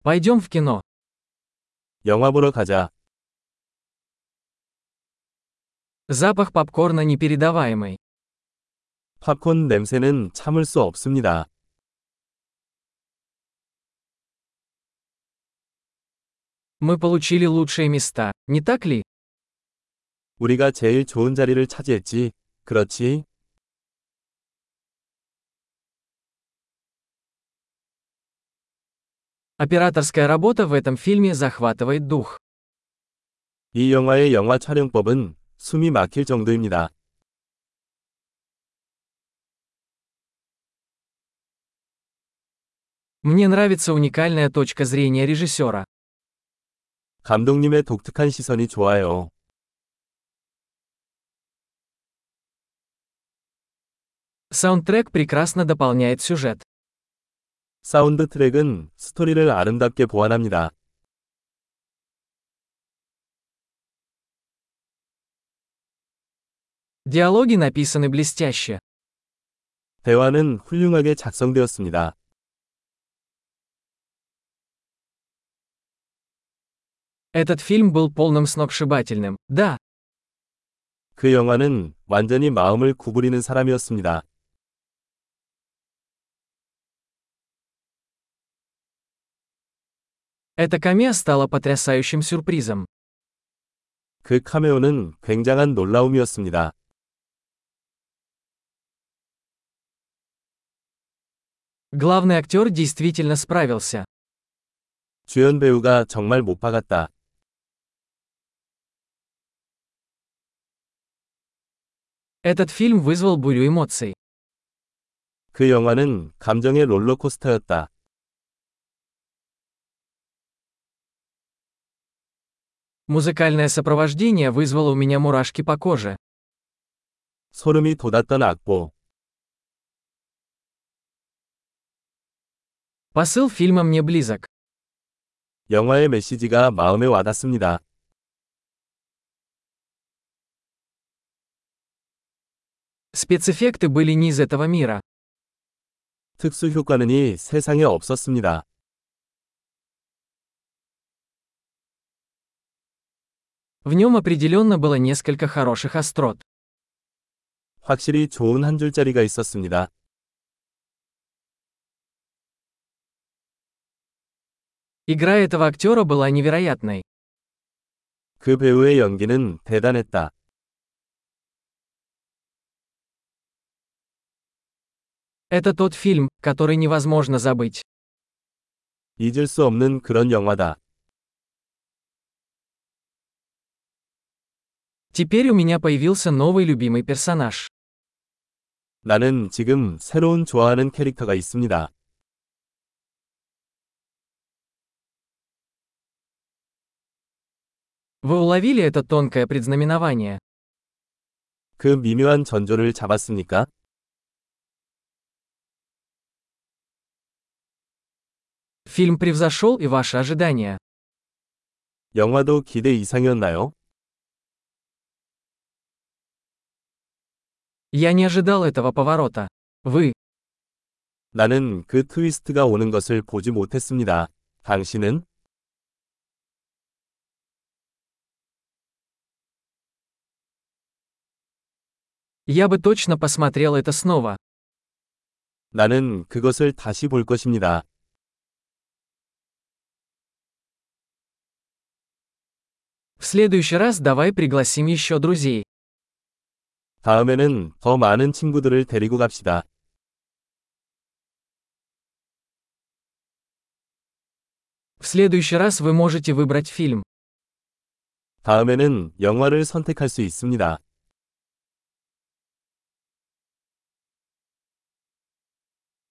Пойдем в кино. 영화 보러 가자. Запах попкорна непередаваемый. 팝콘 냄새는 참을 수 없습니다. Мы получили лучшие места, не так ли? 우리가 제일 좋은 자리를 차지했지. 그렇지? Операторская работа в этом фильме захватывает дух. 이 영화의 영화 촬영법은 숨이 막힐 정도입니다. Мне нравится уникальная точка зрения режиссера. 감독님의 독특한 시선이 좋아요. Саундтрек прекрасно дополняет сюжет. 사운드 트랙은 스토리를 아름답게 보완합니다. Диалоги написаны блестяще. 대화는 훌륭하게 작성되었습니다. Этот фильм был полным сногсшибательным, да. 그 영화는 완전히 마음을 구부리는 사람이었습니다. Эта камео стала потрясающим сюрпризом. 그 카메오는 굉장한 놀라움이었습니다. Главный актер действительно справился. 주연 배우가 정말 못 박았다. Этот фильм вызвал бурю эмоций. 그 영화는 감정의 롤러코스터였다. Музыкальное сопровождение вызвало у меня мурашки по коже. 소름이 돋았던 악보. Посыл фильма мне близок. 영화의 메시지가 마음에 와닿습니다. Спецэффекты были не из этого мира. 특수 효과는 이 세상에 없었습니다. В нем определенно было несколько хороших острот. 확실히 좋은 한 줄짜리가 있었습니다. Игра этого актера была невероятной. 그 배우의 연기는 대단했다. Это тот фильм, который невозможно забыть. 잊을 수 없는 그런 영화다. Теперь у меня появился новый любимый персонаж. 나는 지금 새로운 좋아하는 캐릭터가 있습니다. Вы уловили это тонкое предзнаменование? 그 미묘한 전조를 잡았습니까? Фильм превзошел и ваши ожидания. 영화도 기대 이상이었나요? Я не ожидал этого поворота. Вы. 나는 그 트위스트가 오는 것을 보지 못했습니다. 당신은? Я бы точно посмотрел это снова. 나는 그것을 다시 볼 것입니다. В следующий раз давай пригласим еще друзей. 다음에는 더 많은 친구들을 데리고 갑시다. В следующий раз вы можете выбрать фильм. 다음에는 영화를 선택할 수 있습니다.